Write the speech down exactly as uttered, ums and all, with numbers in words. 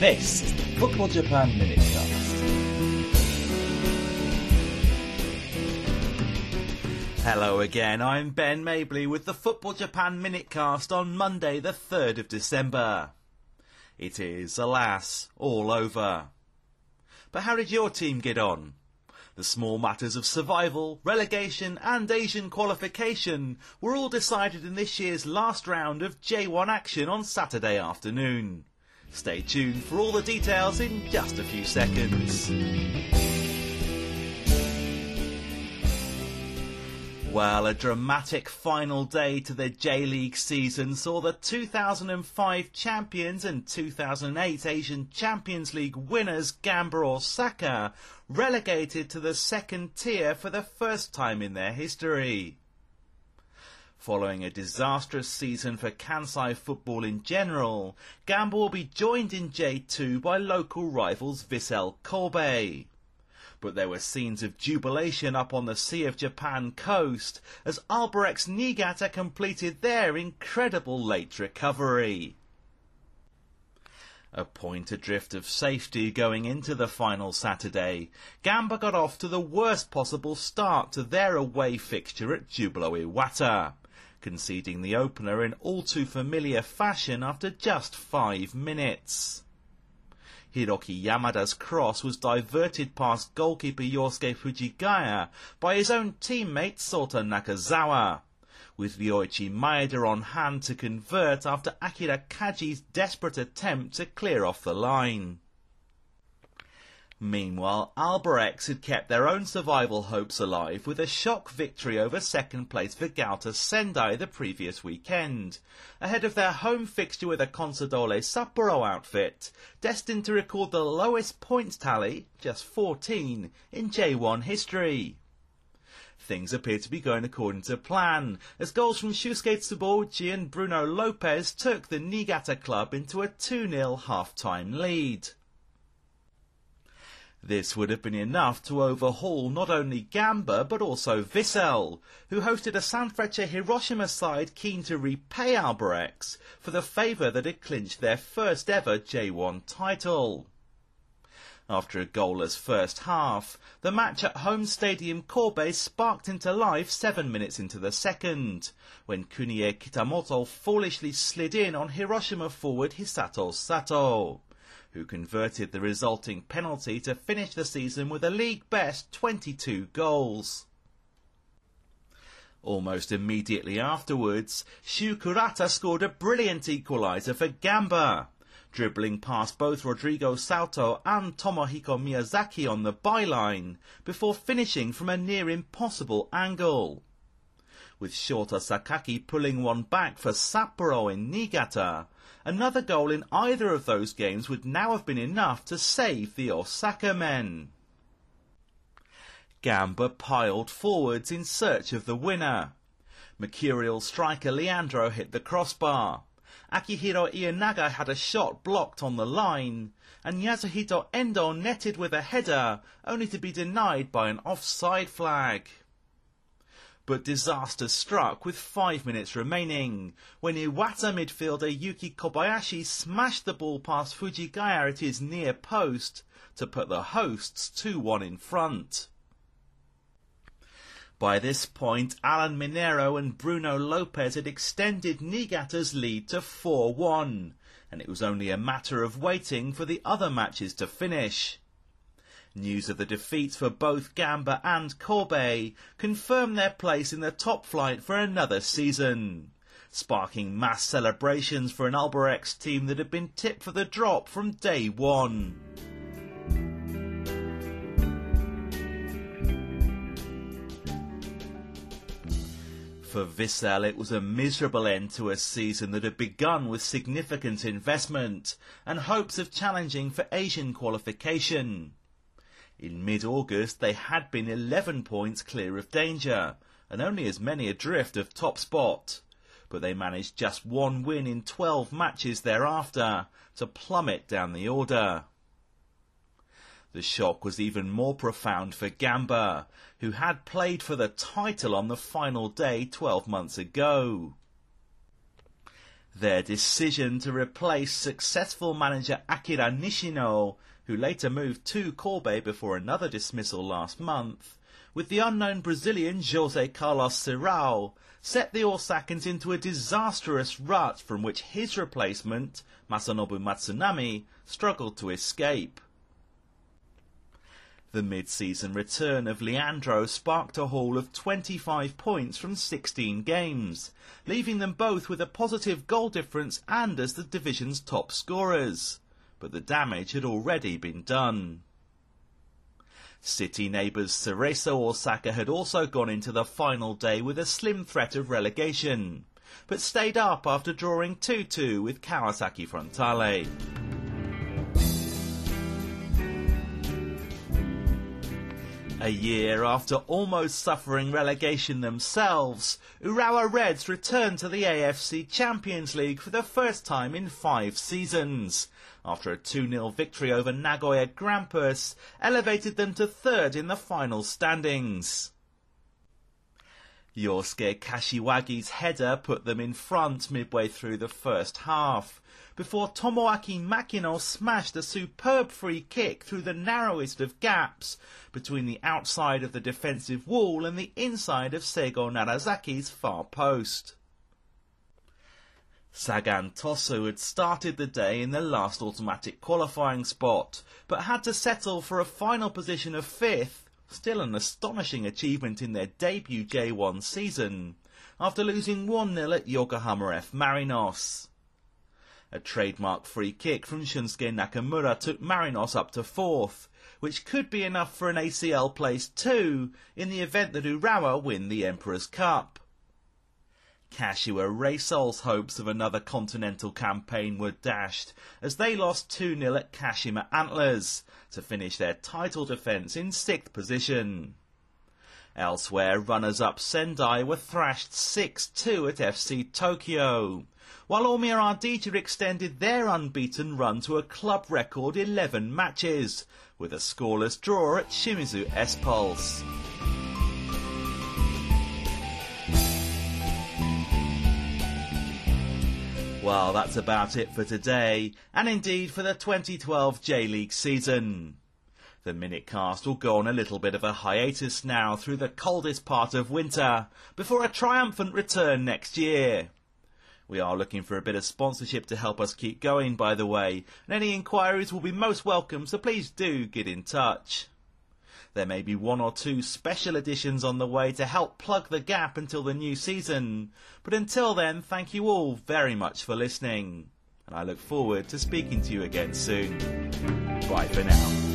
This is the Football Japan Minutecast. Hello again, I'm Ben Mabley with the Football Japan Minutecast on Monday the third of December. It is, alas, all over. But how did your team get on? The small matters of survival, relegation and Asian qualification were all decided in this year's last round of J one action on Saturday afternoon. Stay tuned for all the details in just a few seconds. Well, a dramatic final day to the J-League season saw the two thousand five champions and two thousand eight Asian Champions League winners Gamba Osaka relegated to the second tier for the first time in their history. Following a disastrous season for Kansai football in general, Gamba will be joined in J two by local rivals Vissel Kobe. But there were scenes of jubilation up on the Sea of Japan coast as Albirex Niigata completed their incredible late recovery. A point adrift of safety going into the final Saturday, Gamba got off to the worst possible start to their away fixture at Jubilo Iwata, conceding the opener in all too familiar fashion after just five minutes. Hiroki Yamada's cross was diverted past goalkeeper Yosuke Fujigaya by his own teammate Sota Nakazawa, with Ryoichi Maeda on hand to convert after Akira Kaji's desperate attempt to clear off the line. Meanwhile, Albirex had kept their own survival hopes alive with a shock victory over second place Vegalta Sendai the previous weekend, ahead of their home fixture with a Consadole Sapporo outfit, destined to record the lowest points tally, just fourteen, in J one history. Things appear to be going according to plan, as goals from Shusuke Tsubouchi and Bruno Lopez took the Niigata club into a two nil half-time lead. This would have been enough to overhaul not only Gamba but also Vissel, who hosted a Sanfrecce Hiroshima side keen to repay Albirex for the favour that had clinched their first ever J one title. After a goalless first half, the match at home stadium Kobe sparked into life seven minutes into the second, when Kunie Kitamoto foolishly slid in on Hiroshima forward Hisato Sato, who converted the resulting penalty to finish the season with a league-best twenty-two goals. Almost immediately afterwards, Shu Kurata scored a brilliant equaliser for Gamba, dribbling past both Rodrigo Sato and Tomohiko Miyazaki on the byline, before finishing from a near-impossible angle, with Shota Sakaki pulling one back for Sapporo in Niigata. Another goal in either of those games would now have been enough to save the Osaka men. Gamba piled forwards in search of the winner. Mercurial striker Leandro hit the crossbar. Akihiro Ienaga had a shot blocked on the line, and Yasuhito Endo netted with a header, only to be denied by an offside flag. But disaster struck with five minutes remaining, when Iwata midfielder Yuki Kobayashi smashed the ball past Fujigaya at his near post to put the hosts two one in front. By this point, Alan Minero and Bruno Lopez had extended Niigata's lead to four one, and it was only a matter of waiting for the other matches to finish. News of the defeats for both Gamba and Kobe confirmed their place in the top flight for another season, sparking mass celebrations for an Albirex team that had been tipped for the drop from day one. For Vissel, it was a miserable end to a season that had begun with significant investment and hopes of challenging for Asian qualification. In mid-August, they had been eleven points clear of danger, and only as many adrift of top spot, but they managed just one win in twelve matches thereafter to plummet down the order. The shock was even more profound for Gamba, who had played for the title on the final day twelve months ago. Their decision to replace successful manager Akira Nishino, who later moved to Kobe before another dismissal last month, with the unknown Brazilian José Carlos Serrao, set the Osakans into a disastrous rut from which his replacement, Masanobu Matsunami, struggled to escape. The mid-season return of Leandro sparked a haul of twenty-five points from sixteen games, leaving them both with a positive goal difference and as the division's top scorers. But the damage had already been done. City neighbours Cerezo Osaka had also gone into the final day with a slim threat of relegation, but stayed up after drawing two two with Kawasaki Frontale. A year after almost suffering relegation themselves, Urawa Reds returned to the A F C Champions League for the first time in five seasons, after a two nil victory over Nagoya Grampus elevated them to third in the final standings. Yosuke Kashiwagi's header put them in front midway through the first half, before Tomoaki Makino smashed a superb free kick through the narrowest of gaps between the outside of the defensive wall and the inside of Seigo Narazaki's far post. Sagan Tosu had started the day in the last automatic qualifying spot, but had to settle for a final position of fifth, still an astonishing achievement in their debut J one season, after losing one nil at Yokohama F. Marinos. A trademark free kick from Shunsuke Nakamura took Marinos up to fourth, which could be enough for an A C L place two in the event that Urawa win the Emperor's Cup. Kashiwa Reisol's hopes of another continental campaign were dashed as they lost two nil at Kashima Antlers to finish their title defence in sixth position. Elsewhere, runners-up Sendai were thrashed six two at F C Tokyo, while Omiya Ardija extended their unbeaten run to a club record eleven matches, with a scoreless draw at Shimizu S-Pulse. Well, that's about it for today, and indeed for the twenty twelve J-League season. The Minutecast will go on a little bit of a hiatus now through the coldest part of winter, before a triumphant return next year. We are looking for a bit of sponsorship to help us keep going, by the way, and any inquiries will be most welcome, so please do get in touch. There may be one or two special editions on the way to help plug the gap until the new season, but until then, thank you all very much for listening, and I look forward to speaking to you again soon. Bye for now.